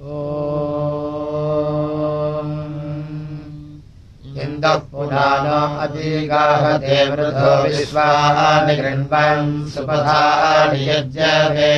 इन्दः पुराणो अतिगाहते वृधो विश्वानि गृह्णन् सुपथानि यज्ञवे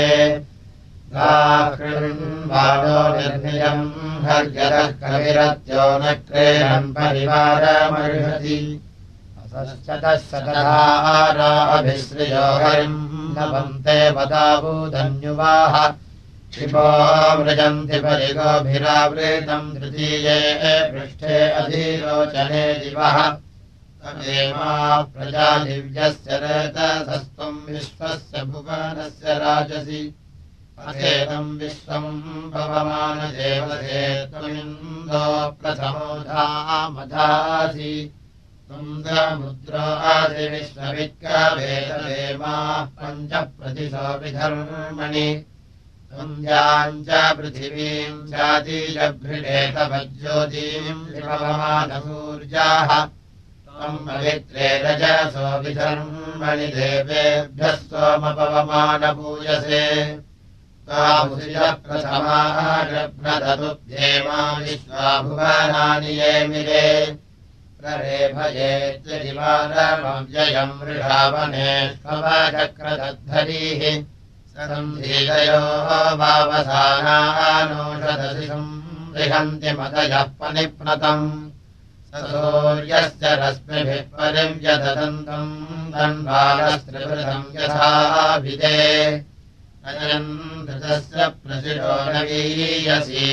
गाकृण्वाणो निर्नियम् हर्यतः कविरत्यो न क्रीडन् परिवारमर्हति असश्चतः सकधाराभिश्रियो हरिम् नवन्ते वदावूदन्युवाह क्षिपो मृजन्ति परिगोभिरावृतम् तृतीये पृष्ठे अधीरोचने दिवः तमेमा प्रजा दिव्यस्य रेतसस्त्वम् विश्वस्य भुवनस्य राजसि अथेदम् विश्वम् भवमानदेवते त्वमिन्दो प्रथमो धामधासि तुन्द्रमुद्रो आसि विश्ववित्कवेदवेमा पञ्चप्रतिशो विधर्मणि तुन्द्याम् च पृथिवीम् चातीजभृडेतवज्योतीम् विभवमानसूर्याः त्वम् पवित्रे रजसो विधर्मणि देवेभ्यः सोमपवमानपूजसे तामुषिजः प्रथमारभ्रततुभ्येमा विश्वाभुवनानि ये मिरे प्ररेभयेत्यजिवारमव्ययम् वृषावनेष्वचक्रदद्धरीः सन्धीतयो वावसानानोषधसि संरिहन्ति मतयः पनिप्नतम् सूर्यस्य रश्मिभिः परिव्यदन्तम् धन्वानस्त्रिवृतम् यथाभिदे अयम् धृतस्य प्रसिरो नवीयसी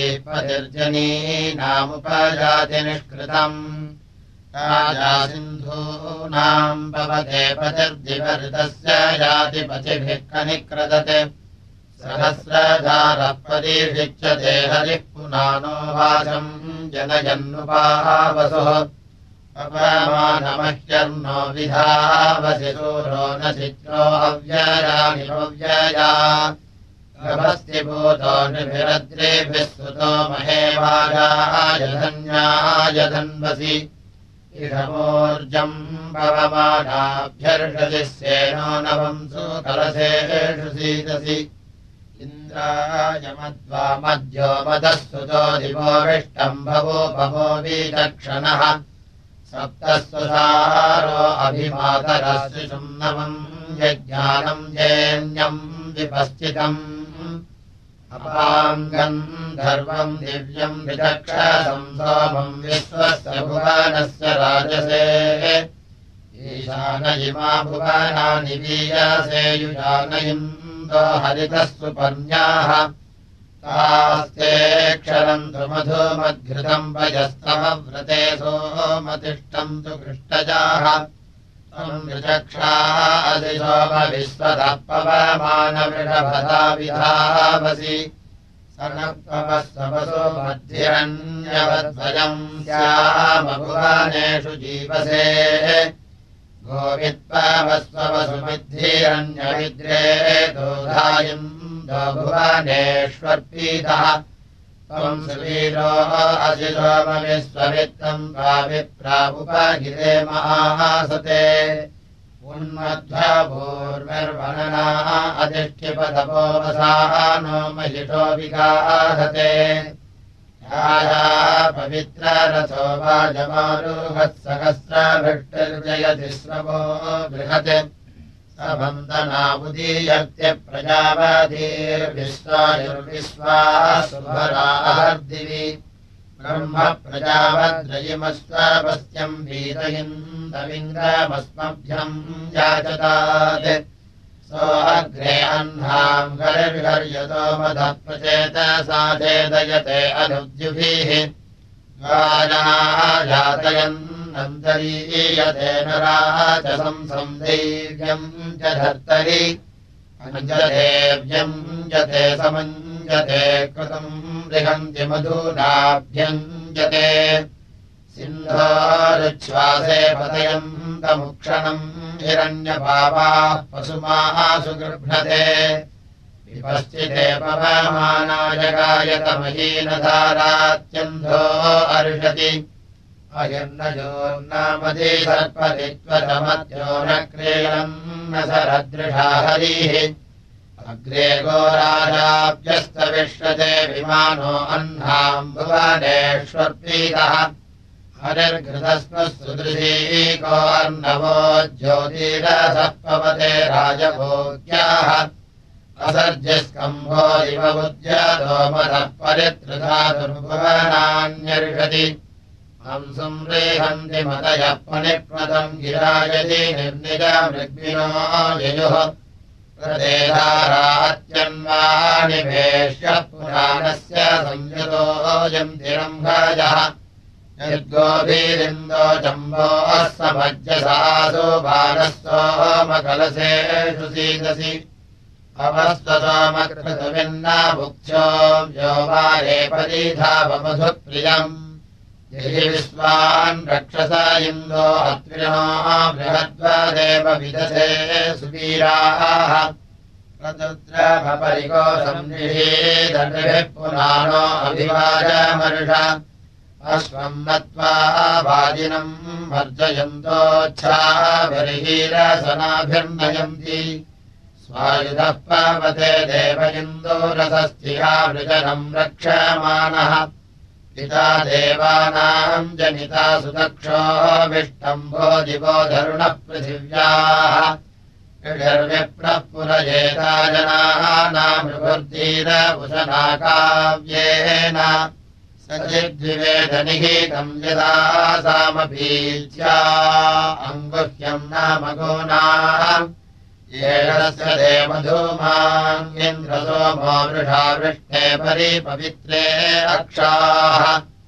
पतिर्जनीनामुपजातिनिष्कृतम् राजा सिन्धूनाम् भवते पतिर्दिवऋतस्य यातिपतिभिः कनिक्रदते सहस्रधारः परीक्षिच्यते हरिः पुनानो वाचम् जनयन्नुपावसुः अपमानमह्यर्नो विधावसि सूरो न चित्रो अव्ययानि अव्यया गभस्ति भूतो निभिरद्रेभिः सुतो महेवाजाय धन्याय धन्वसि इषमोर्जम् पवमानाभ्यर्षसि स्येनो नवंसु कलशेषु सीदसि इन्द्राय मध्वा मध्यो मदः सुतो दिवो विष्टम् भवो विचक्षणः सप्तस्वसारो अभिमातरस्य सुम्नवम् यज्ञानम् जेन्यम् विपश्चितम् अपाङ्गम् धर्वम् दिव्यम् विचक्षसम् सोमम् विश्वस्य भुवनस्य राजसे ईशान इमा भुवनानि वीयसे युजानयिन्दो हरितः सुपर्ण्याः तास्ते क्षरन्तु मधुमद्घृतम् वयस्तमव्रते सोमतिष्ठन्तु कृष्टजाः ऋचक्षादिशोमविश्वतः पवमानवृषभता विधावसि सनपवस्वसो मध्यरण्यवद्वयम् श्यामभुवनेषु जीवसे गोवित्पवस्वसुमिद्धिरण्यविद्रे दोधायिन्दो भुवनेष्वर्पीतः त्वम् सुवीरो असि सोमविश्ववित्तम् वाविप्रावुपगिरे महासते उन्मध्वभूर्विर्वनना अधिष्ठिपतपोवसानो महिषो विगाहते याया पवित्ररथो वाजमारुहः सहस्रभृष्टिर्जयति श्रवो बृहत् वन्दनामुदीयर्त्य प्रजावादीर्विश्वायुर्विश्वासुभरार्दिवि ब्रह्म प्रजावद्रयिमस्वापस्यम् वीतयिन्दविन्द्रमस्मभ्यम् याचतात् सो अग्रे अह्नाम् गरिर्हर्यतो मदः प्रचेतसा चेदयते अनुद्युभिः गानायातयन् अन्तरीयते नराचसम् संदैव्यम् च धर्तरि अञ्जतेव्यञ्जते समञ्जते कृतम् बृहन्ति मधुनाभ्यञ्जते सिन्धोरुच्छ्वासे पतयन्तमुक्षणम् हिरण्यपावाः पशुमासु गृह्णते विपश्चिते पवमानाय गायतमहीनधारात्यन्धो अर्षति अयर्नजोर्नामदे सर्परित्वतमत्यो न क्रीडम् न सरदृशा हरिः अग्रे गोराजाभ्यस्तविष्यते विमानो अह्नाम् भुवनेष्वर्पीतः हरिर्घृतस्मः सुदृशीको अर्णवो ज्योतिरसः पवते राजभोग्याः असर्जस्कम्भो इव बुध्यतो मदः परित्रुधा दुर्भुवनान्यर्षति हंसुम् रेहन्ति मतयः पणिक्मतम् गिरायति निर्निजमृग्विनो ययुः प्रदेधारात्यन्वानिवेश्य पुराणस्य संयुतोऽयम् तिरम्भजः यद्गोभीरिन्दो चम्बोः समज्जसासु बालस्तोमकलसेषु सीदसि अवस्ततोमकृतविन्ना भुक्ष्यो यो वारे परिधावमधुप्रियम् यहि विश्वान् रक्षसा इन्दो अत्रिणो बृहद्वदेव विदधे सुवीराः प्रतुद्रभपरिको संनिषेदर्भिः पुराणो अभिवाजमर्ष अश्वम् नत्वा वाजिनम् वर्जयन्तोच्छाभिर्हीरसनाभिर्नयन्ति स्वायुधः पावते देव इन्दोरसस्थिहा वृजनम् रक्षमाणः पिता देवानाम् जनिता सुदक्षोऽभिष्टम्भो दिवो धरुणः पृथिव्याः ऋषर्विप्रः पुरजेता जनानामृभुर्धीरभुषणा काव्येन सचिद्विवेदनिहितम् यदा सामपीच्या अङ्गुह्यम् नाम गोनाः येषस्य देवधूमान्येन्द्रसोमो वृषा वृष्टे परिपवित्रे अक्षाः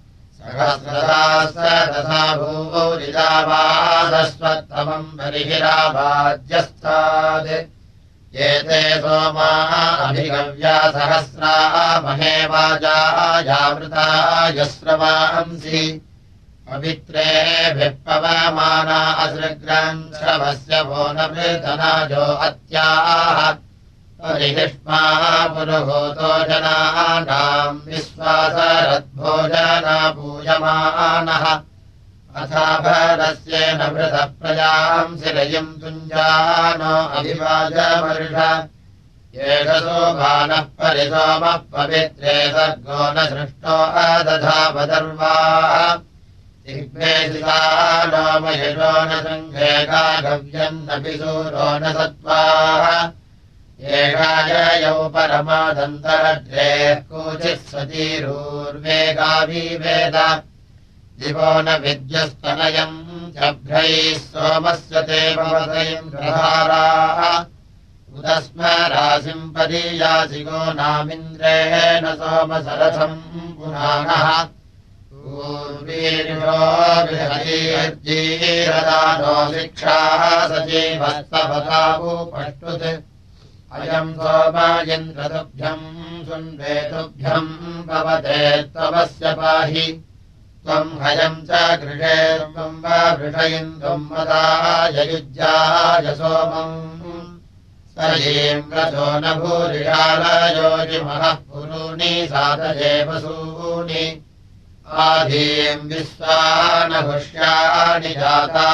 सहस्रदासदसा भूरिदावादस्वत्तमम् बर्हिरावाज्यस्ताद् एते सोमाः अभिगव्या सहस्रा महे वाजायामृता यस्रवांसि पवित्रेभिः पवमाना असृग्रन्थवस्य वो न वृधनाजो अत्याः परिहिष्माः पुरुहूतो जनानाम् विश्वासरद्भोजना पूयमानः अथाभरस्येन वृथः प्रजाम् शिरयिम् तुञ्जानो अभिवाजमर्ष एष सोमानः परिसोमः पवित्रे सर्गो न सृष्टो अदधावदर्वाः दिग्मेशिता नो मयशो न सङ्घे गाघव्यन्नपि सूरो न सत्त्वाः एषाययौ परमादन्तरद्रेः कोचित् सतीरूर्वेगाविवेद दिवो न विद्यस्तनयम् जभ्रैः सोमस्य ते भवतैन्द्रधाराः उदस्म राशिम् पदीयासि गो नामिन्द्रेण सोमसरथम् पुराणः पूर्वीर्यो बृहतीर्जीरदानो शिक्षाः सजीवस्तपतावुपष्टुत् अयम् सोम इन्द्रतुभ्यम् सुन्वेतुभ्यम् भवते त्वमस्य पाहि त्वम् हयम् च गृहे त्वम् वा वृषयिन्दुम् मदाय युज्याय सोमम् सयेन्द्रजो न भूरिषालयोजिमः पुरूणि सातये वसूनि आधीम् विश्वानहुष्याणि जाता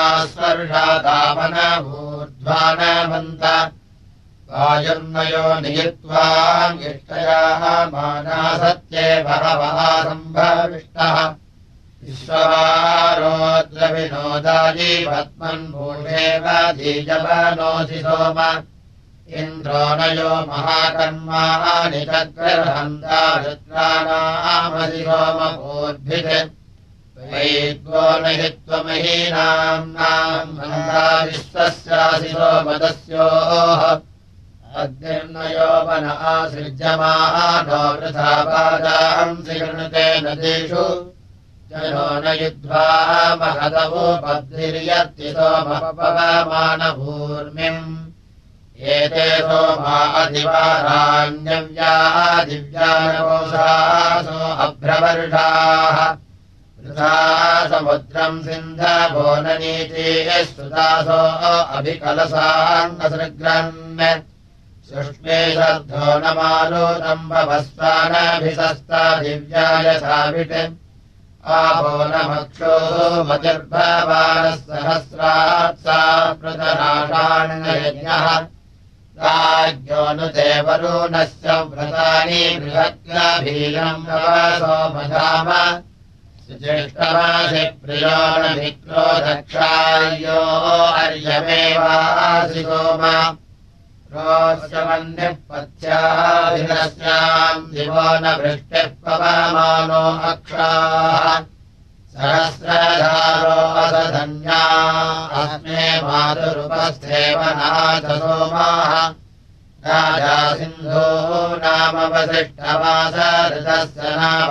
स्वर्षातापनभूर्ध्वानवन्त वायुर्नयो नियित्वाम् इष्टयाः माना सत्ये बहवः सम्भविष्टः विश्ववारोद्रविनोदायि पद्मन्भूषेव धीजवनोऽसि सोम इन्द्रो नयो महाकर्माणि चक्रहन्ता रुद्राणामसि सोमभूद्भित् वैद्वो न हि त्वमहीनाम्नाम् मन्दा विश्वस्यासि सोमदस्योः अग्निर्नयोपन आसृज्यमानो वृथा पादांसि गृणुते नदीषु जनो न युद्ध्वा महदवोपद्भिर्यत्ति सोमपवमानभूर्मिम् एते सोमा अधिवाराण्यव्या दिव्यानकोशासो अभ्रवर्षाः वृथा समुद्रम् सिन्धवो न नीतिः सुदासो अभिकलसान्नसृग्रन् सुष्मे शर्धो न मालोदम् भवस्वानभिसस्ता दिव्याय साविट् आपो न मक्षोः मतिर्भवानः सहस्रात् सा प्रतनाषाण्ययज्ञः राज्ञोऽनुते वरुणस्य व्रतानि बृहत्याभीरम् नवसो मधाम सुज्येष्ठमासि प्रियो न विक्रो दक्षायो अर्यमेवासि सोमा रोऽस्यमन्यः पथ्याभिरस्याम् दिवो न वृष्टिः पवमानो अक्षाः सहस्रधारो असधन्या अस्मे मातुरुपस्थेव नाथ सोमाः राजा सिन्धो नाम वसिष्ठवास ऋतस्य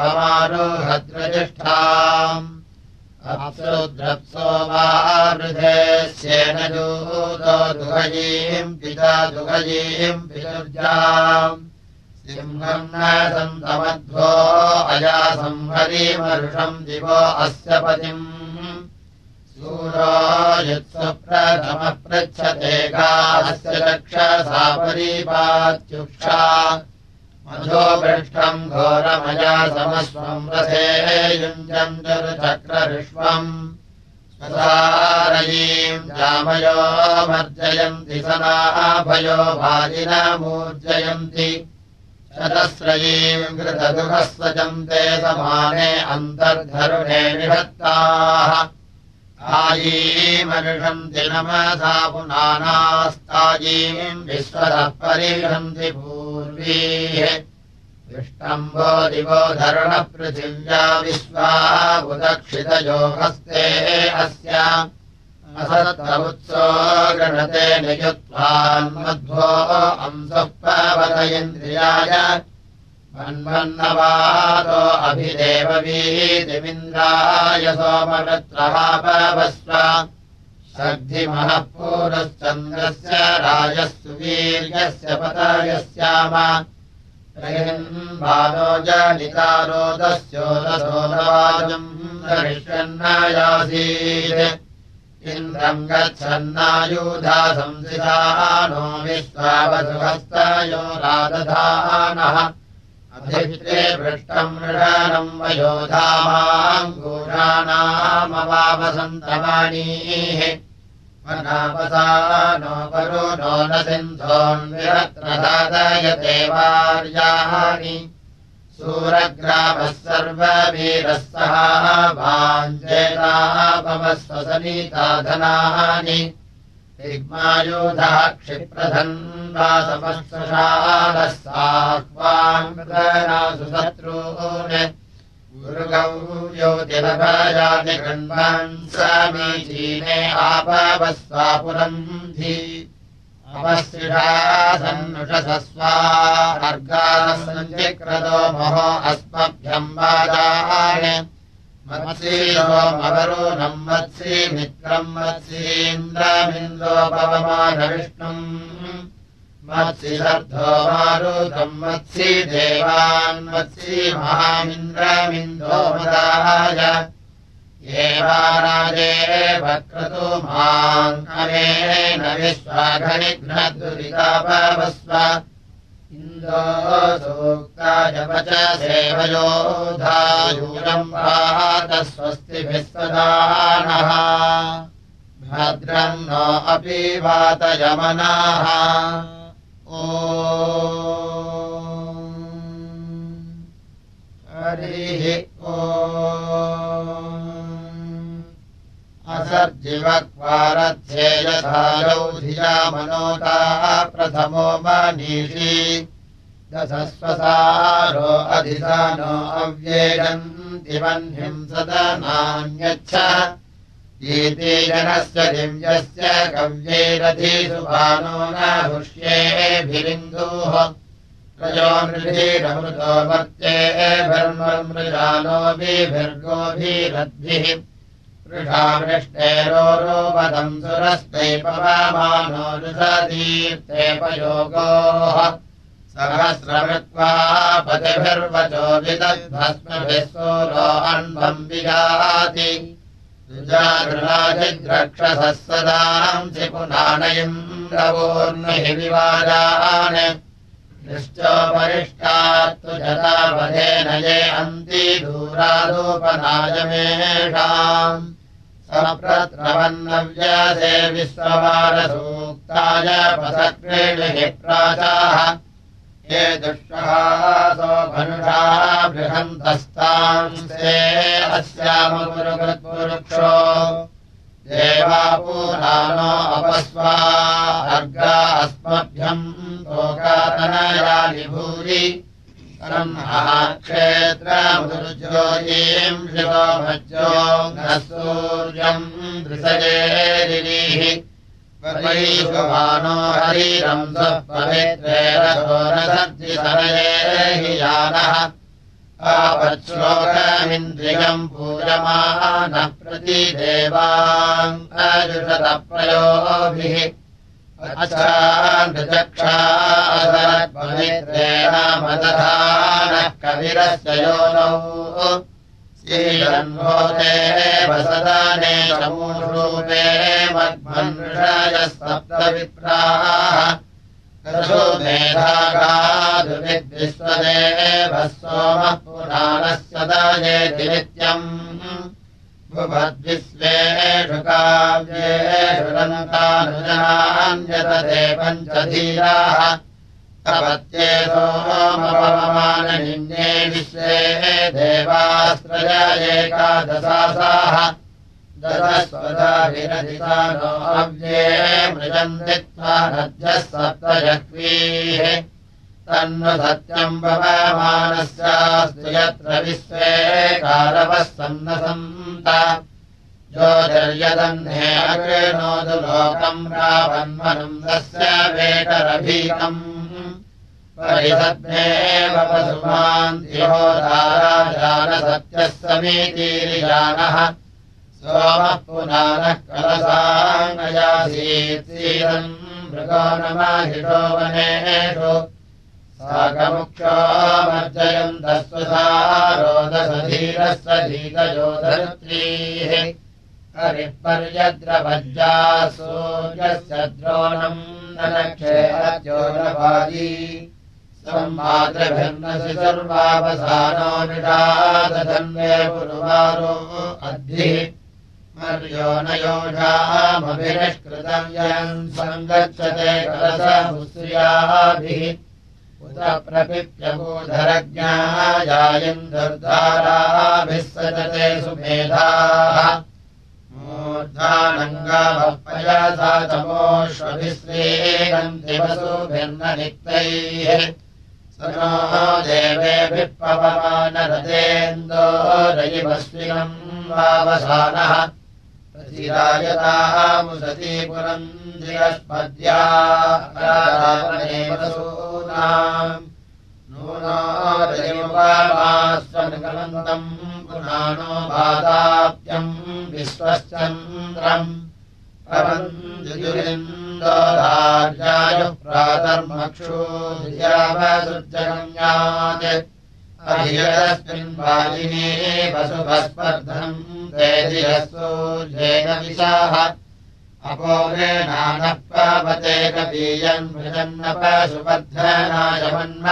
नाभमारुहद्रजिष्ठाम् अप्सुद्रप्सो वा वृधेस्येन दूतो दुघयीम् पिता दुघयीम् पितुर्जाम् सिंहम् न सन्तमध्वो अया संहरीमरुषम् दिवो अस्य पतिम् सूरो युत्सुप्रथमः पृच्छते गास्य चक्षसा परीपात्युक्षा मधो पृष्ठम् घोरमया समस्वम् रथे युञ्जम् चक्रऋष्वम् स्वसारयीम् जामयो मर्जयन्ति सनाभयो भाजिनमूर्जयन्ति शतस्रयीम् घृतदुःखस्वजन्ते समाने अन्तर्धरुणे निषत्ताः आयीमनुषन्ति नमसा पुनानास्तायीम् विश्वतः परिषन्ति पूर्वीः विष्टम्भो दिवो धरुणः पृथिव्या विश्वा बुदक्षितयो हस्ते अस्य असत्तमुत्सो गृणते नियुत्वान्मध्वो अंसः पवतयेन्द्रियाय मन्वन्नवातो अभिदेववीतिमिन्द्राय सोमवृत्रः पवस्व शग्धिमः पूरश्चन्द्रस्य राजः सुवीर्यस्य पतयस्याम बालो जनितारोदस्योदसो नवाजम् धरिष्यन्नायासीत् इन्द्रम् गच्छन्नायुधा संसिधा नो विश्वावसुहस्तयो रादधानः अभित्रे पृष्टम् मृषाणम् वयोधामाङ्गूषाणामवावसन्तवाणीः वनापसा नो परो नो न सिन्धोन्विरत्रधादयते वार्याणि सूरग्रामः सर्ववीरः सह वाञ्छेतापमस्वसनीताधनानि दिग्मायुधः क्षिप्रधन्वासमस्वशालः साह्वाङ्गनासु शत्रून् गुरुगौ योतिलभयाति गण्वान् समीचीने आपवस्वापुरम् धी अपस्थिषासन्नुषसस्वा अर्गाः सञ्चिक्रतो महो अस्मभ्यम् वाजान् मत्सीरोमवरुणम् मत्सीमित्रम् मत्सीन्द्रमिन्दो पवमानविष्णुम् मत्सिदर्धो मारुतम् मत्सी देवान् मत्सी महामिन्द्रमिन्दो मदाय एवाराजे वक्रतुमान् अनेन विश्वाघनिघ्नदुरितापवस्व इन्दो सूक्ताय वच सेवयोधायूरम् वात स्वस्तिभिः सदा नः भद्रम् नो अपि वातयमनाः ॐ हरिः ॐ असर्जिवक्वारध्ये यथा लौधिया मनोताः प्रथमो मनीषी दशस्वसारो अधिसानो अव्येगन्ति वह्निम् सदनान्यच्छ गीते जनस्य दिव्यस्य कव्यैरधिसुभानो न हुष्येभिरिन्दुः रजो नृभिरमृतो वर्त्येभिर्मृजानोभिर्गोभिरद्भिः वृषावृष्टेरोपदम् सुरस्मै पवमानो रुषदीर्तेपयोगोः सहस्रमृत्वा पतिभिर्वचो विदग्धस्मभिः सूरो अन्वम् विजाति रुजागृणाजिद्रक्षसः सदांसि पुनानयम् रवोर्नहि विवाजान् निश्चोपरिष्टात्तु जतावधेन ये अन्ति दूरादोपनायमेषाम् सप्रत्रवन्नव्यासे विश्ववारसूक्ताय पसक्रीणिः प्राचाः ये दुष्टहासो मनुषा बृहन्तस्तांस्ते अस्यामपुरुकृत्पुरुक्षो देवापूरानो अपस्वा अर्गा अस्मभ्यम् लोकातनयानि भूरि क्षेत्रमुदुर्ज्योतिम् शिवो मज्जो न सूर्यम् दृशजेरिः वैश्ववानो हरिरम् स्वपवित्रेरसोरसर्जिसनये हि यानः आपच्छ्लोकमिन्द्रियम् पूयमानः प्रतिदेवान् अजुषतप्रयोभिः अच्छान्दचक्षासरत्पवित्रेण मदधानः कविरस्य योनौ श्रीरन्वोते वसदाने चमूषूपे मद्मन्षयः सप्तविप्राः तथो मेधागाधुविद्विश्वदेवः सोमः पुराणस्य दायेति नित्यम् भुवद्विश्वेषु काव्येषु रन्तानुजनान्यतते पञ्चधीराः तपत्ये सोमपवमाननिन्ये विश्वे देवास्त्रय एकादशासाः दशस्वदाभिरधितानो अव्ये मृजन्दित्वा नद्यः सप्तजह्वीः तन्नु सत्यम् पवमानस्यास्तु यत्र विश्वे कारवः सन्नसन्त ज्योतिर्यदह्ने अकृणोतु लोकम् रावन्मनुम् तस्य वेटरभीतम् परिसद्मेव वसुमान्तिहोदाराजानसत्यः समीतीरिजानः सोमः पुनानः कलसाङ्गयासीत् सीदम् मृगो नमाहिषो वनेषु साकमुख्यो मर्जयन्तः स्वसारोदसधीरस्य धीतयोधरुत्रीः हरिः पर्यद्रवज्जाः सूर्यस्य द्रोणम् ननक्षे अद्योनवाजी सम्मातृभिर्नसि सर्वावसानो निषादधन्वे पुरुवारो अद्भिः मर्यो न योषामभिनिष्कृतम् यन् सङ्गच्छते कलसमुश्रियाभिः उत प्रपिप्यभूधरज्ञायायिन्दुर्धाराभिः सजते सुमेधाः मूर्धानङ्गावः पयसा तमोष्वभिश्रीरन्ति वसुभिर्न निक्तैः स नो देवेभिः पवमानरतेन्दोरयिवस्विनम् वावसानः प्रतिरायतामुसती पुरन्दिरस्पद्या वसूनाम् नूनो रयिमुपमास्वनुकलन्तम् पुनानो बाधाप्यम् विश्वश्चन्द्रम् प्रबन्धुजुलिन्दोधार्यायुः प्रातर्मक्षूर्यावसुज्जगम्यात् अभिरस्मिन् वाजिनी वसुभस्पर्धम् सूर्येण विशाः अपोरेणानः पावते कपीयन् मृजन्नपशुवर्धनाय मन्म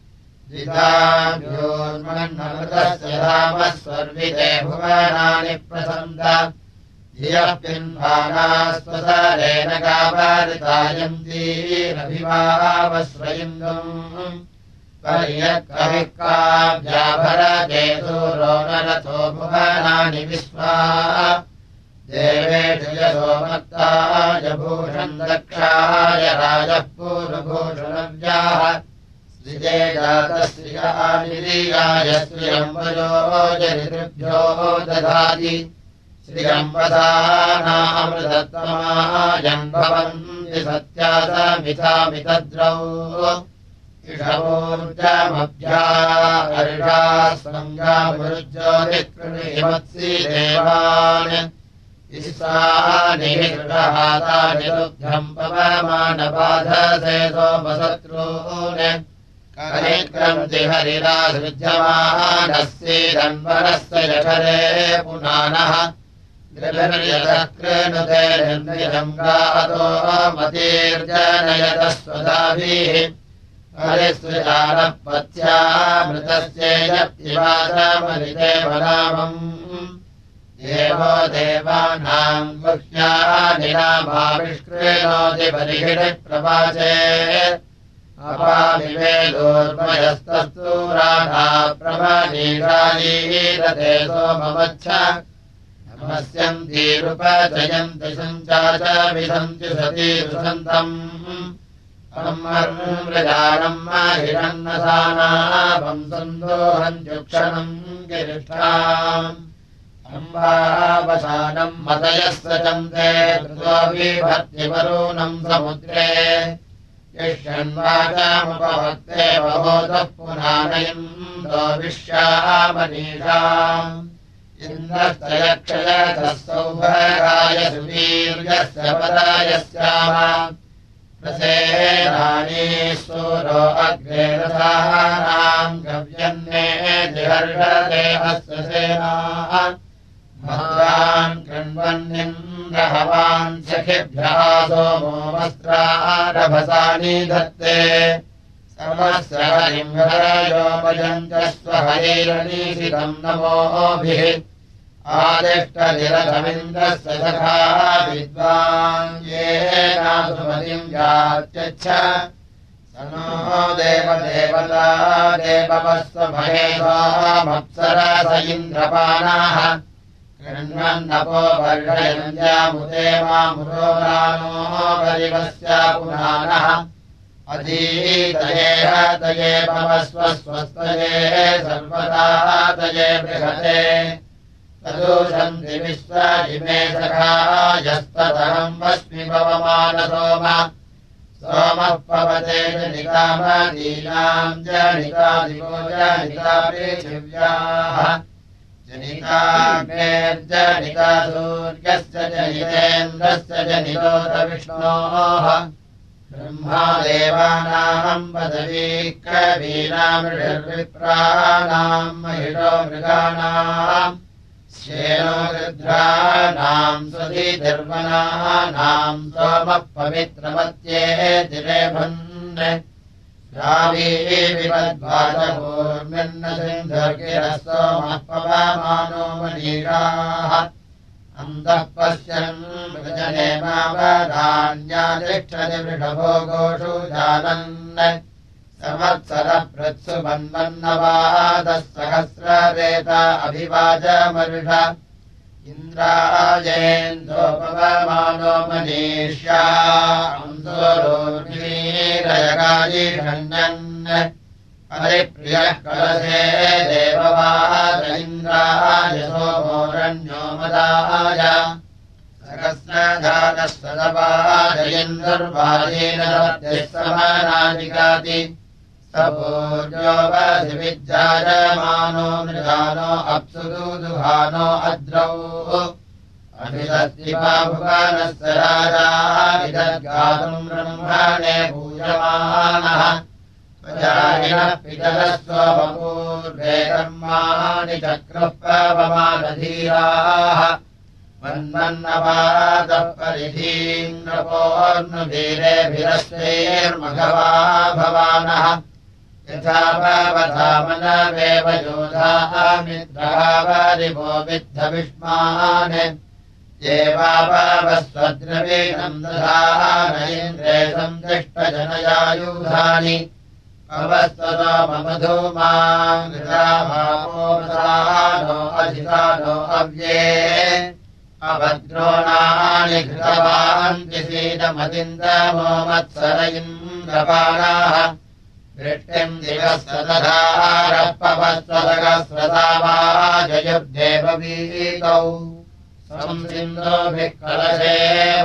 द्विधाभ्योर्मन्नमृतस्य धामः स्वर्विते भुवनानि प्रसन्त धियः पिन्वानास्वसारेण कापारितायन्तीरभिवावस्वयिन्दुम् पर्यक्कविः काव्याभरकेतूरो नरथो भुवनानि विश्वा देवेषु यशोमत्ताय भूषम् दक्षाय राजः पूर्वभूषणव्याः श्रिये जातश्रियानिरीयाय श्रियम्बजो जरितृभ्यो दधाति श्रियम्बदानामृतत्वमायम् भवन्ति सत्यासमितामितद्रौ इषवोर्जमभ्या हर्षा स्वङ्गामुरुज्योतिकृणिमत्सि देवान् इष्टानिहातानि तुभ्यम् पवमानबाधसे सोमशत्रून् कनिक्रन्ति हरिरासृज्यमानस्येदन्वरस्य जठरे पुनानः द्रविर्यतकृणुते निर्निजम् गातो मतीर्जनयतः स्वदाभिः हरिसृजानः पत्यामृतस्येयप्तिवासमलिते वनामम् देवो देवानाम् गुह्यानिनामाविष्कृणोति बर्हिणि प्रवाचे अपामिवेदोर्मयस्तस्तूराणा प्रमनीराजीरते सोमवच्छ नमस्यन्तीरुपजयन्ति सञ्चाच विसन्ति सतीरुसन्तम् अमर्मृजानम् महिरन्नसानापम् सन्दोहन्त्युक्षणम् गिरिष्ठाम् अम्बावसानम् मतयः सचन्ते कृतोऽभिभर्तिवरूणम् समुद्रे यष्यन्वाचामुपभक्ते बहोदः पुनानयन्दो विश्यामनीषाम् इन्द्रस्य यक्षयतः सौभगाय सुवीर्यस्य पदायस्याम प्रसेनानी सूरो अग्रे रथानाम् गव्यन्ने जिहर्षते अस्य सेनाः भद्रान् कृण्वन्निन्द्रहवान् सखिभ्यः सोमो वस्त्रारभसानि धत्ते समस्य हरिम् हरयोपयञ्च स्वहैरनीशितम् नमोभिः आदिष्टनिरथमिन्द्रस्य सखा विद्वान् येनासुमतिम् यात्यच्छ स नो देवदेवता देववस्व महेशामप्सरस इन्द्रपानाः कृण्वन्नपो वर्षयन्त्यामुदे मामुरोरानो परिवस्या पुनानः अधीतये हतये पवस्व स्वस्तये सर्वदा तये बृहते तदूषन्ति विश्वाजिमे सखायस्ततहम् वस्मि पवमानसोम सोमः पवते जनितामदीनाम् जनितादिवो जनिता पृथिव्याः जनिताग्नेर्जनिता सूर्यस्य जनितेन्द्रस्य जनितोतविष्णोः ब्रह्मा देवानाम् पदवी कवीनामृषर्विप्राणाम् महिषो मृगाणाम् श्येनो रुद्राणाम् स्वधीधर्वणानाम् सोमः पवित्रमत्येतिरेभन् श्रावी विवद्वाचपूर्मिन्न सिन्धुर्गिरः सोमः पवमानो मनीषाः अन्तः पश्यन् वृजनेमावधान्यातिष्ठति वृषभो गोषु जानन् संवत्सरप्रत्सु मन्वन्नवादः सहस्ररेत अभिवाचमरुष इन्द्रायेन्दोपवमानो मनीष्या अंसोरोर्वीरयगायिषण्यन् हरिप्रियः कलशे देववाद इन्द्राय सोमोरण्यो मदाय सहस्रधानः सदपादयन्दुर्वाजेन समानादिगाति सपूर्यो वसिविज्जायमानो मृगानो अप्सुदुदुहानो अद्रौ अभिदस्तिपा भुवनस्य राजा विदद्गातुम् ब्रह्मणे पूजमानः प्रजायिनः पितरः स्वपूर्वे कर्माणि चक्रुः पवमानधीराः मन्मन्नवादः परिधीम् नपोर्नुवीरेभिरस्वैर्मघवा भवानः यथा भवधामनवेव योधाः मित्रः वरिवो विद्धविष्मान् देवावस्वद्रवीणम् दधान इन्द्रे सन्दिष्टजनयायुधानि अवस्ततो मम धूमाम् घृतामामोमसानो अधितानो अव्ये अभद्रोणानि घृतवान्ति सीदमदिन्दमो मत्सर इन्द्रपाणाः वृष्टिम् दिवस्तदधारः पवस्वदगस्वदावाजयुर्देववीतौ संसिन्दोभिः कलशे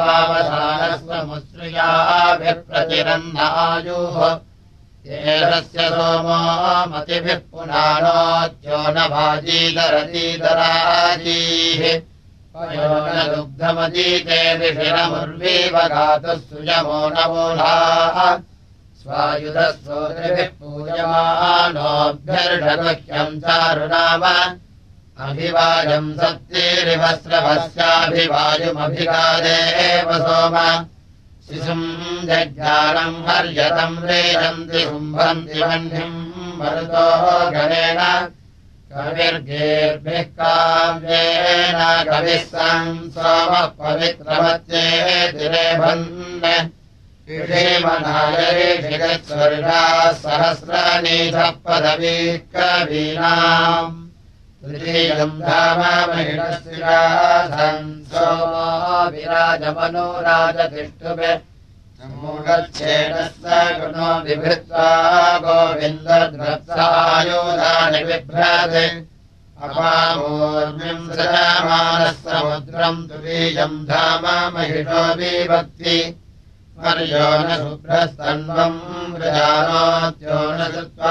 वावधानस्वमुश्रियाभिः प्रतिरन्नायुः येषस्य सोमो मतिभिः पुनानोद्यो न भाजीधरतीधराजीः पयो न दुग्धमदीते ऋषिरमुर्वीव गातुः सुयमो न मूलाः स्वायुधस्तोत्रिभिः पूजमानोऽभ्यर्षगुह्यम् चारुनाम अभिवाजम् सत्तिरिवस्रभस्याभिवायुमभिगादेव सोम शिशुम् जज्ञानम् हर्यतम् रेजन्ति शुम्भन्ति वह्निम् मरुतो गणेन कविर्गेर्भिः काव्येन कविः सन् सोमः पवित्रमत्येतिरेभन् ऋषिमनायऋषिगस्वर्गाः सहस्रनीधः पदवीः कवीनाम् तृतीयम् धाममहिषस्विराधन् सोमो विराजमनोराजतिष्ठुभिः मूढच्छेदस्य गुणो बिभृत्वा गोविन्दद्रत्सायुधानि बिभ्रते अपामूर्मिम् सृजमानः समुद्रम् तुरीयम् धाम महिषो विभक्ति पर्यो न शुभ्रस्तन्वम् वृजानोत्यो न कृत्वा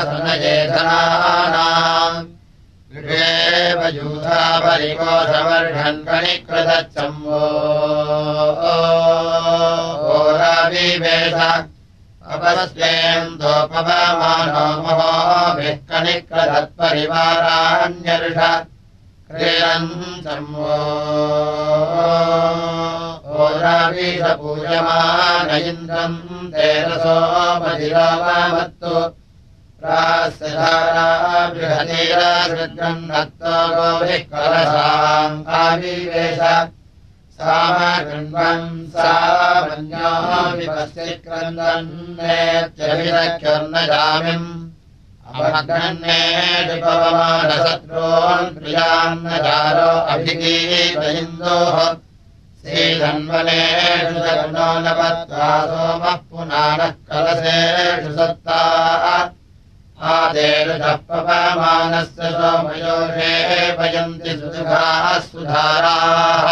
सनयेधनानाम् गृहेव यूथा परिकोशवर्षन् कणिकृतच्छम्भो ओराविवेश अपस्येन्दोपवमानो महोभिः कणिकृतत्परिवाराण्यर्ष क्रीडन् शम्भो ओराविष पूजमान इन्द्रम् तेरसो मधिरामत्तु प्रास्यधारा बृहतीरासृजन्नत्तो गोभिः कलशाम् आविवेश सामगृह्णन् सामन्यो विपस्यक्रन्दन्नेत्यभिरक्षर्नजामिम् अवग्रन्नेऽपवमानशत्रून् प्रियान्नजारो अभिगीतयिन्दोः श्रीधन्वनेषु जग्नो न पत्वा सोमः पुनानः कलशेषु सत्ताः आदेरुजः पवमानस्य सोमयोषे वयन्ति सुधाः सुधाराः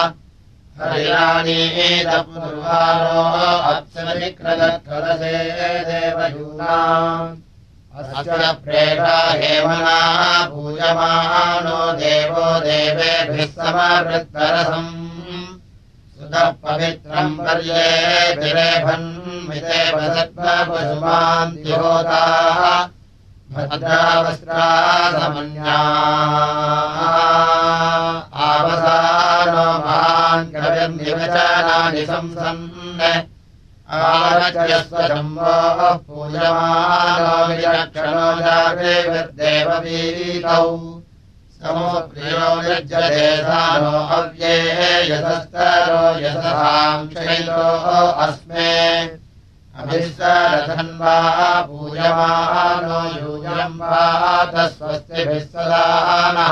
हरिराणीतपूर्वारो अप्सरिकृतकलशे देवयूनाम् अस्य प्रेषा हेमना पूजमानो देवो देवेभिः समवृत्तरसम् सुतः पवित्रम् पर्येभिरेभन्मितेव सत्त्वपशुमान्तिहोताः भद्रावस्त्रासमन्या आवसानो महान् कविर्निवचनानि संसन् आरच्यस्वशम्भोः पूजमानो विचक्षणो जागृविर्देववीतौ समो प्रियो यज्जदेशानो अव्ये यतस्तरो यतसाम् शैलो अस्मे अभिस्सरधन्वा पूजमानो यूयम् वात स्वस्तिभिः सदा नः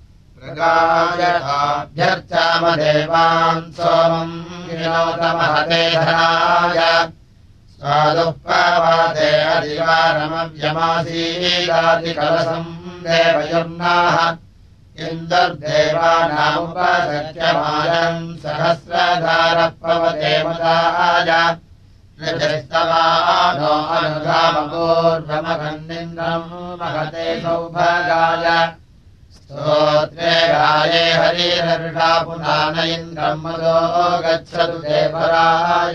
प्रगायताभ्यर्चामदेवान् सोमम् विनोदमहते धनाय स्वादुःपवाते अधिकारमव्यमासीदादिकलसम् देवयुर्नाः इन्दर्देवानामुपसख्यमायम् सहस्रधारः पवते मदाय ऋजस्तवानो अनुधामपूर्वमघन्निन्द्रम् महते सौभगाय स्तोत्रे गाये हरिरर्षा पुनान इन्द्रम् मदो गच्छतु देवराय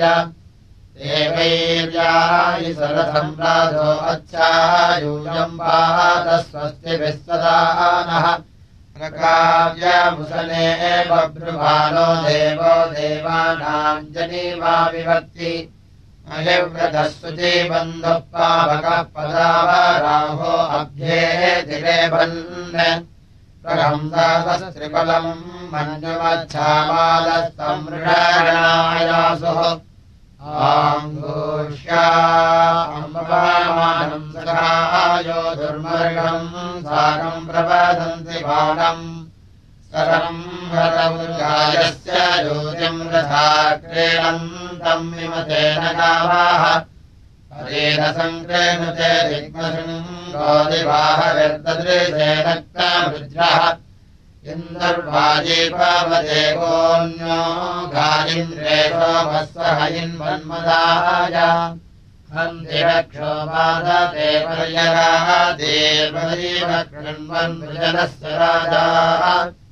देवैर्यायि सरथम् राधो अच्छायूयम् वात स्वस्तिभिः सदा नः प्रकाव्यमुसने बभ्रुभानो देवो देवानाम् जनीवा विभक्ति अहिव्रतः शुचिबन्धुः पावकः पदावराहो अभ्येतिरेभन् प्रहंसासस्त्रिफलम् मञ्जुमच्छामालस्तमृषाणायासुः आङ्गोष्या अम्बवामानम् सखायो दुर्मर्गम् साकम् प्रवदन्ति बाणम् सरम् हरमुर्गायस्य ज्योतिम् रथा क्रीडन्तम् विमतेन गावाः हरेण सङ्क्रेणुते दिग्मशृङ्गोदिवाहविर्ददृशेनक्तमृज्रः इन्दर्वाजीपवते गोन्यो गायिन्द्रे सोमस्वह इन्मन्मदाय हन्तिरक्षोपादते पर्यगादेवैव कृण्वन्मृजनस्य राजाः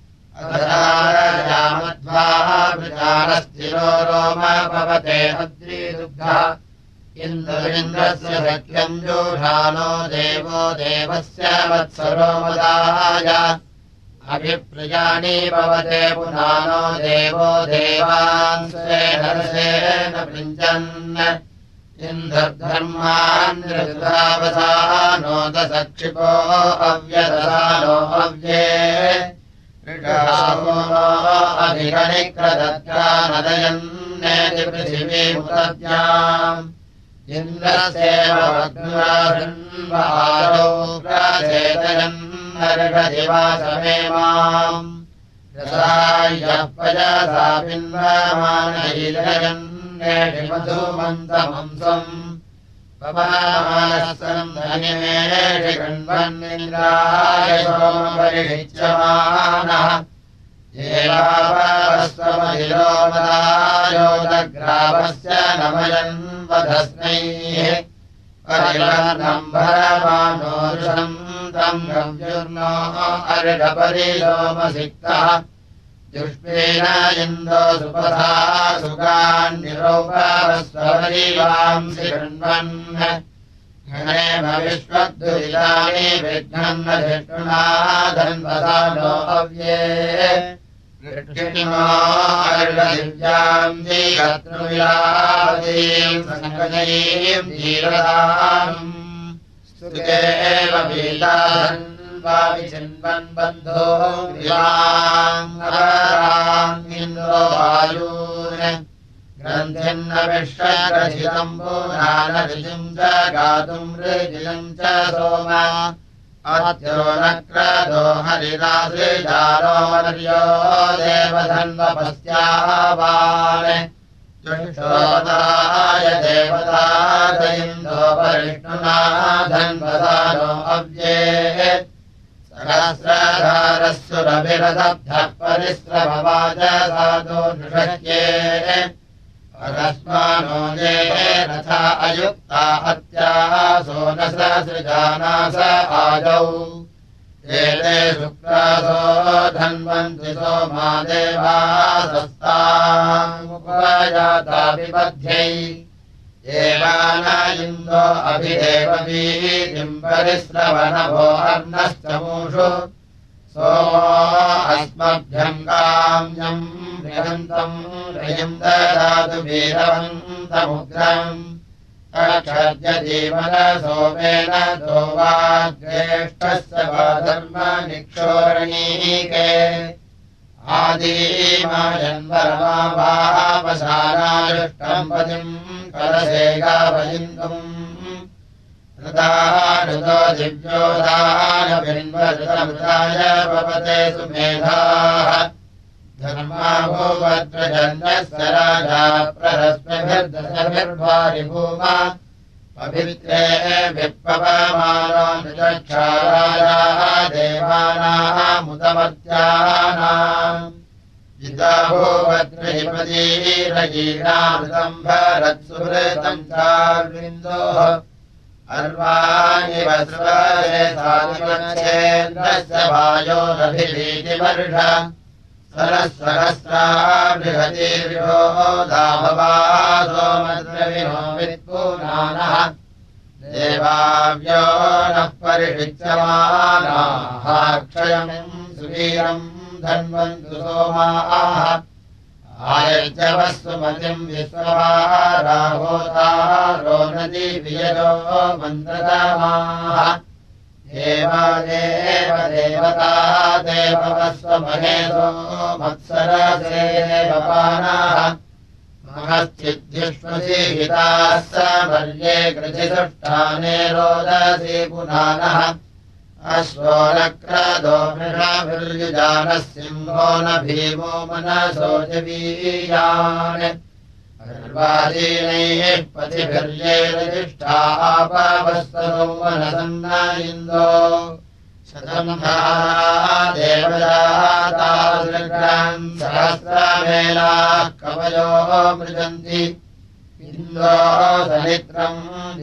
अधरारजामध्वाः वृजानस्थिरो रोमपवते अद्रीदुग्धः इन्द्रस्य सख्यम् जोषानो देवो देवस्य वत्सरो मदाय अभिप्रियाणि भवते पुनानो देवो देवान् स्वेन पृञ्चन् इन्द्रधर्मान् ऋतुधावसानो दशक्षिपो अव्यदसानो विगणिक्रदत्या नदयन्नेति पृथिवीमुदद्याम् इन्द्रस्येव वग्नुराधन्वादौ प्रचेतयन्नर्घदिवासमे माम् यसायः पयसा पिन्वमानैलयन्नेति मधुमन्तमंसम् पवमानसम् धनिमेषि गण्वन्निन्द्राय सोमपरिषिच्यमानः येवावस्वमधिलोमदायोदग्रावस्य नमयन् वधस्मैः परिवर्णम् भरमानोरुषम् तम् गव्युर्नो अर्घपरिलोमसिक्तः जुष्मेण इन्दो सुपथा सुगान्निरोपवस्वरीवांसि गृह्णन् घनेम विश्वद्दुरितानि विघ्नन्न धिष्णुना धन्वसानो अव्ये कृष्णो अर्घदिव्याम् जीगत्रुविलादीम् सङ्गजयीम् जीरदाम् स्तुतेव पीताधन् विचिन्वन् बन्धो इन्द्रो वायून् ग्रन्थिन्न विश्वग्रथितम् पूर्णानऋजिम् च गातुम् ऋजिलम् च सोम अत्यो नक्रदो हरिरासृजारो मर्यो देवधन्वपस्यावान् चुषोदाय देवतादयिन्दो परिष्णुना धन्वसानो अव्ये सहस्रधारस्सुरभिरदब्धः परिस्रववाचसादो नृषक्ये अकस्मानो ये रथा अयुक्ता हत्यासो न ससृजानास आजौ एते शुक्रासो धन्वन्ति सोमा देवासस्तामुपयाता विबध्यै एवान इन्दो अभिदेववीतिम् परिस्रवणभो अर्णश्चमूषु सोमो अस्मभ्यम् काम्यम् बृहन्तम् रयिम् ददातु वीरवन्तमुग्रम् अक्षर्यजीवन सोमेन दोवाग्रेष्ठस्य वा धर्मनिक्षोरणीके आदीमायन्वरमावापसानायुष्टम् पतिम् कलशेगावयिन्दुम् ऋदानुदो दिव्योदानभिन्वृतमृताय पवते सुमेधाः धर्माभूवत्रजन्यस्य राजा प्ररस्मिभिर्दशभिर्भारिभूमा पवित्रे विप्पवमानो नृचक्षाराजाः देवानामुदमर्त्यानाम् जिताभूवद्रहिपदीरयीनामृतम् भरत्सुहृतम् चार्विन्दोः अर्वाणि वस्वरे साधिमच्छेन्द्रस्य वायोरभिभीतिवर्ष सरः बृहतीर्यो दाभवा सोमद्रविनो वित्पूनानः देवाव्यो नः परिषिच्यमानाः क्षयम् सुवीरम् धन्वन्तु सोमाः आयज्यवस्वमतिम् विश्ववाराहोतारो नदी वियजो मन्द्रतमाः देवादेव देवता देववस्वमहेशो मत्सरसेवपानाः महश्चिद्युष्मसीहिताः समर्ये कृतिसुष्ठाने रोदसी पुनानः अश्वो नक्रदो मृषाभिर्युजानः सिंहो न भीमो मनसो जवीयान् अर्वादीनैः पतिभिर्ये रजिष्ठापावस्तनो मनसन्न इन्दो शतम् देवदातादृग्रम् सहस्रमेलाः कवयो मृजन्ति इन्दो सनित्रम्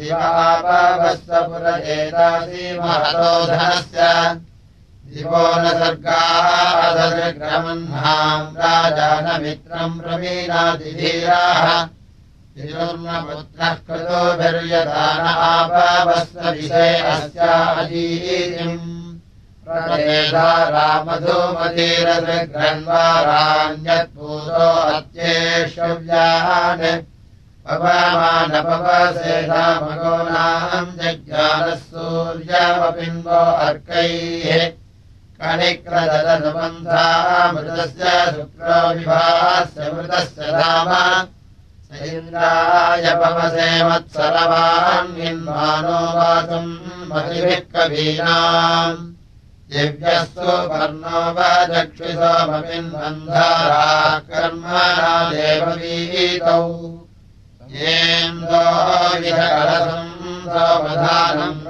दिवापवस्वपुरजेतासि महतो धनस्य दिवो न सर्गादृग्रमह्नाम् राजानमित्रम् प्रवीणातिधीराः तिरुर्नपुत्रः कृतोभिर्यदान आपवस्वविषे अस्याजीतिम् प्रचेता रामधूमतीरदृग्रन्वाराण्यत्पूतो अत्येष्यव्यान् पवमानपवसेधामगोनाम् जज्ञानः सूर्यमपिन्वो अर्कैः कणिक्रदनुबन्धामृतस्य शुक्रो विभास्य मृतस्य राम स इन्द्राय पवसे मत्सरवान्यन्मानो वाचम् मतिभिः कवीनाम् दिव्यस्तु पर्णो वचक्षुषोमपिन्वन्धाराः कर्मणा देववीतौ येन्दो विधकलसम् सोमधानम्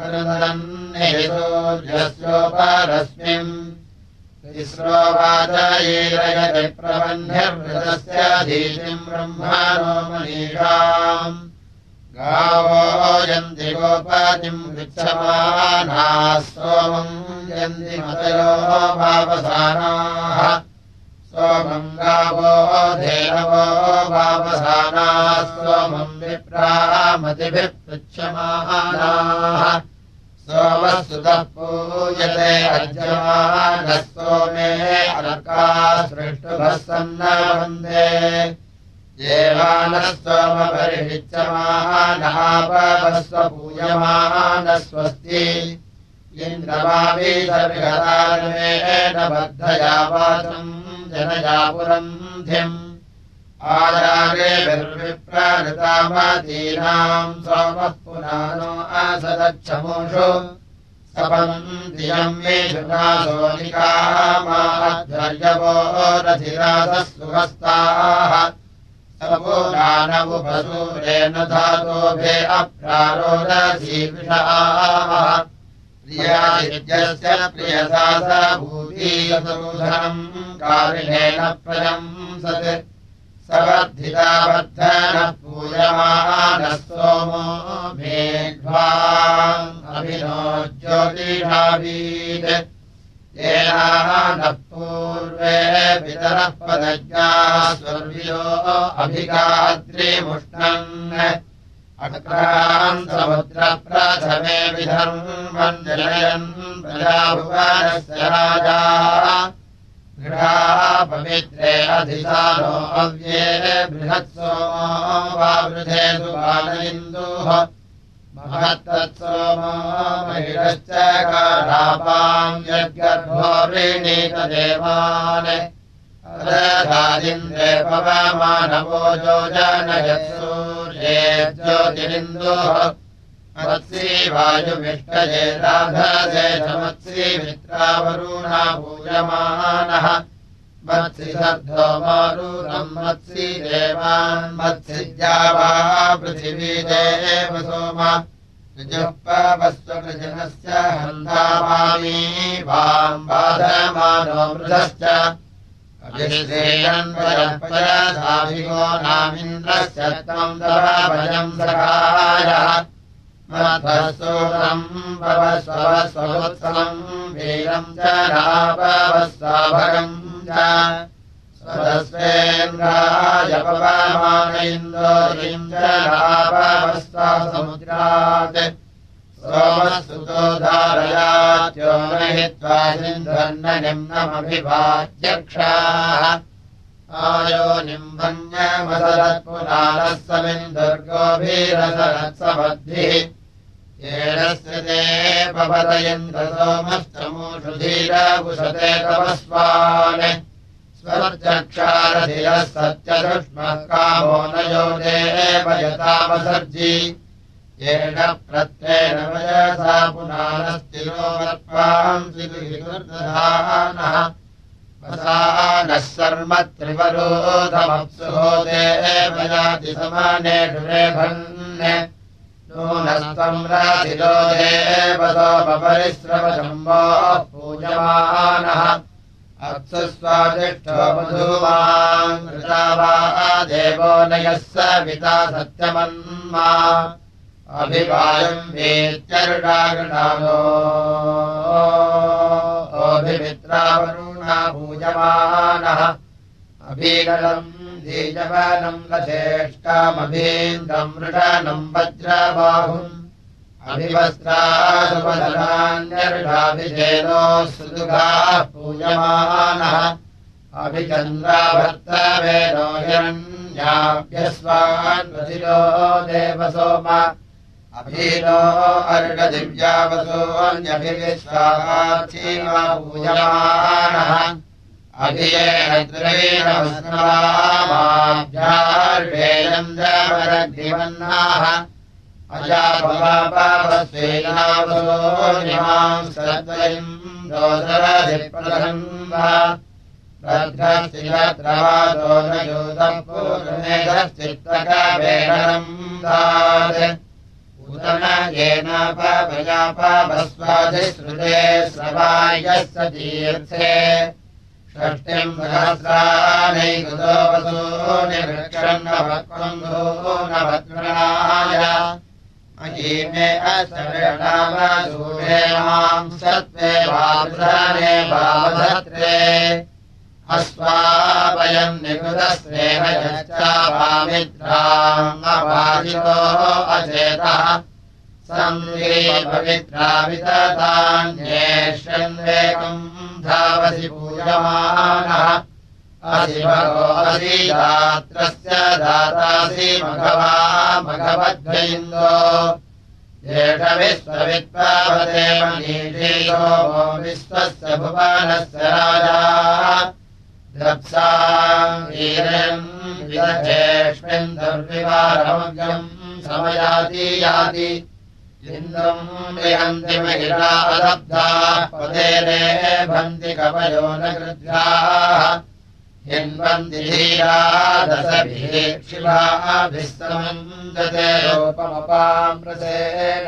सूर्यस्योपरस्मिन् तिस्रो वाचयेरयति प्रबन्ध्यर्वृतस्य धीतिम् ब्रह्मणो मनीषाम् गावो यन्ति गोपतिम् गृच्छमानाः सोमम् यन्ति मतयो वावसानाः सोमम् गावो धेनवो वावसानाः सोमम् विप्रामतिभिः पृच्छमानाः सोमः सुतः पूयते अज्यमानः सोमे अर्काः सृष्टुभः सन्नवन्दे देवानः सोमपरिषिच्यमानः पवस्व पूयमानः स्वस्ति इन्द्रमावीशर्गतारमेण बद्धया वाचम् जनया पुरन्धिम् आचार्यभिर्विप्रहृतामतीनाम् सोमः पुनानो असदच्छमुषु सपन्तियम् मेषुनासोनिकामाध्वर्यवो रथिरासः सुहस्ताः सपूनानवुपसूरेण धातोभे अप्रारोदधीविषाः प्रियादित्यस्य प्रियसा स भूतीयसरूधनम् कारिणेन प्रशंसत् सवर्धिता वर्धनः पूयमानः सोमो मेघ्वाम् अभिनो ज्योतिषावीत् येनानः पूर्वे पितरः पदज्ञाः स्वर्वियो अभिगात्रिमुष्णन् अक्रान् समुद्रप्रथमे विधर्मम् जनयन् प्रजाभुवनस्य राजा गृहा पवित्रे अधिसानो अव्ये बृहत्सोमो वावृधे सुबालइन्दुः महत्तत्सोमो महिषश्च कारापाम् यद्गर्भो वृणीतदेवान् अदधादिन्द्रे पवमानवो योजनयत्सूर्ये ज्योतिरिन्दुः मत्सी वायुविष्टये राधसे मत्सी मित्रावरुणा पूयमानः मत्सि सर्धो मारुणम् मत्सि देवान् मत्सिद्या वा पृथिवी देव सोम ऋजुःपवस्वकृजनस्य हन्धामामी वाम् बाधमानो मृधश्च अभिश्रेयन्वयपयधाभिगो नामिन्द्रस्य त्वम् तव भजम् सखायः मध्वसूरम् पवस्वस्वोत्सवम् वीरम् च नापवस्वाभगम् च स्वदस्वेन्द्राय पवमान इन्दोरीम् च नापवस्वा समुद्रात् सोमस्तुतो धारयात्यो नहित्वा सिन्धन्न निम्नमभिवाच्यक्षाः आयो निम्बन्यमसरत्पुराणः समिन्दुर्गोभीरसरत्समद्भिः येनस्य ते पवतयन्त्र सोमश्चमूषु धीरभुषते तपस्वान् स्वर्चक्षारधिरः सत्यदुष्मः कामो न यो देवयतामसर्जी येन प्रत्येन वयसा पुनानस्तिरो वर्त्वांसि दुहितुर्दधानः वसानः सर्म त्रिवरोधमप्सुहो देवयाति समानेषु रेभन् नूनस्त्वम् राधिरो देवसोपरिश्रवशम्भोः पूजमानः अप्सुस्वादिष्ठो मधुमान् कृता वा देवो नयः सविता सत्यमन्मा अभिवायम् वेत्यरुडागृणानो अभिमित्रावरुणा पूजमानः अभीगलम् दीजवनम् लचेष्टामभीन्द्रम् मृडनम् वज्रबाहुम् अभिवस्त्रासुपदनान्यर्षाभिधेनो सुदुघाः पूजमानः अभिचन्द्राभर्तवेदो हिरण्याभ्यस्वान् वसिलो देवसोम अभीनो अर्घदिव्यावसोऽन्यभिविश्वाचीमा पूजमानः अभियेन द्रवीणवस्माभ्यार्वेन्द्रमरग्निवन्नाः अजापवापवस्वेनावसो निमां सद्वयम् दोदरधिप्रदन्वा भद्रस्तिरत्रवादो न योधः पूर्णमेधश्चित्तकवेणम् दात् उदन येन पवयापवस्वाधिश्रुते स्रवायस्य तीर्थे षष्टिम् सहस्रानैकृतो वसो निवृक्षन्नवत्वन्धो नवत्वृणाय अहीमे अस्तविषणावसूरे माम् सत्त्वे वावृधाने वावधत्रे अस्वापयम् निकृतस्नेह यश्चावामित्राम् अपादितो अचेतः संग्रीपवित्राविततान्येष्यन्वेकम् धावसि पूजमानः असि भगो असि दात्रस्य दातासि मघवा मघवद्भ्यइन्दो येष विश्ववित्पावते मनीषीयो विश्वस्य भुवनस्य राजा द्रप्साम् वीरम् विदधेष्मिन् दुर्विवारमग्रम् समयाति याति इन्द्रम् विहन्ति महिला अलब्धाः पदेरे भन्ति कवयो न कृद्धाः हिन्वन्ति धीरा दशभिः शिवाभिः समञ्जते रूपमपामृतेन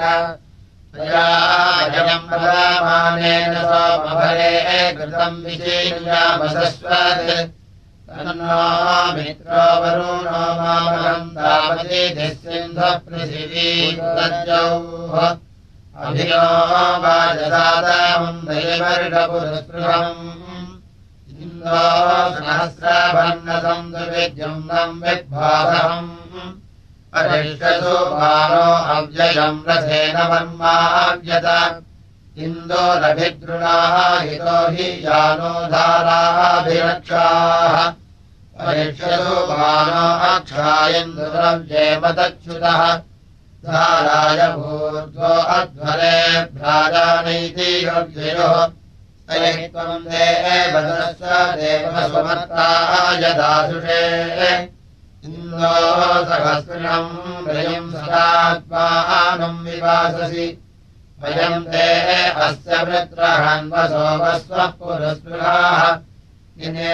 तयाजम् पदामानेन सोमभरे कृतम् विचीर्यामसस्वत् तन्नो मित्रो वरुणो मामहम् तावतीधिः सिन्धः पृथिवी तज्जौः अभियो वाजसादामम् दैवर्षपुरस्पृहम् इन्दो सहस्रभन्नसम् दुर्विद्युम्नम् विद्भासहम् परिष्यसु मानो अव्ययम् रथेन वर्माव्यत इन्दोरभिद्रुणाः हितो हि यानो धाराभिरक्षाः परिष्यसु मानो अक्षायन्दुरव्येमदच्युतः धाराय भूर्ध्वो अध्वरे भ्राजानैति योग्ययोः तैः त्वम् देवदस्य देवसुमर्ताय दासुषे इन्दो सहस्रिणम् वयम् सदात्मानम् विवाससि वयम् ते अस्य वृत्रहन्वसो वस्वः पुरस्पृहाः इने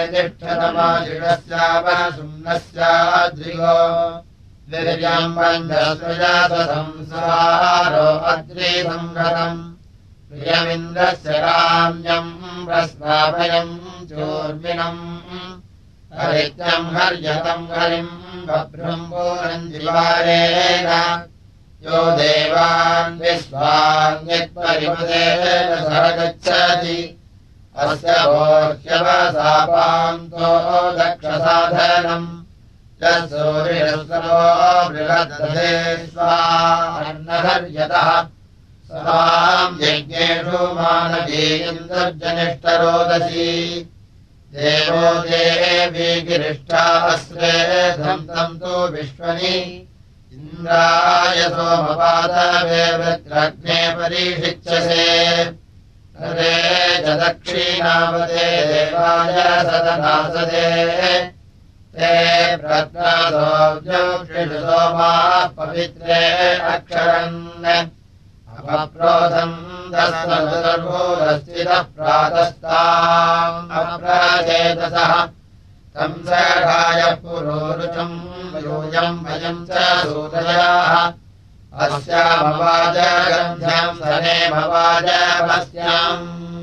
तिष्ठतमाजिषस्यावसुम्नस्याद्रिगो वीर्यम् बन्धस्वजासंसारो अद्रिसंहतम् प्रियमिन्द्रस्य काम्यम् प्रस्नाभयम् चोर्मिणम् हरित्यम् हर्यतम् हरिम् बभ्रम्भोरम् जिवारेण यो देवान् विश्वान् यत्परिमदेन सह गच्छति अस्य भोह्यवसापान्तो दक्षसाधनम् यत्सूर्यस्तरो बृहद्दधे स्वान्नहर्यतः स्वाम् यज्ञेषु मानवीन्द्रजनिष्ठरोदसी देवो देवी गिरिष्ठा अस्रे धन्तम् तु विश्वनि इन्द्राय सोमपादवे वृत्रग्ने परीक्षिच्यसे हरे च दक्षिणावते देवाय सदनासदे ते प्रत्नादोऽव्योक्षिषु सोमाः पवित्रे अक्षरन् अपप्रोधम् दस्मदुर्भूरस्थितः प्रातस्ताम् अप्राचेतसः तम् सखाय पुरोरुचम् यूयम् वयम् च सूतयाः अस्यामवाजगन्ध्यम् सनेमवाजपस्याम्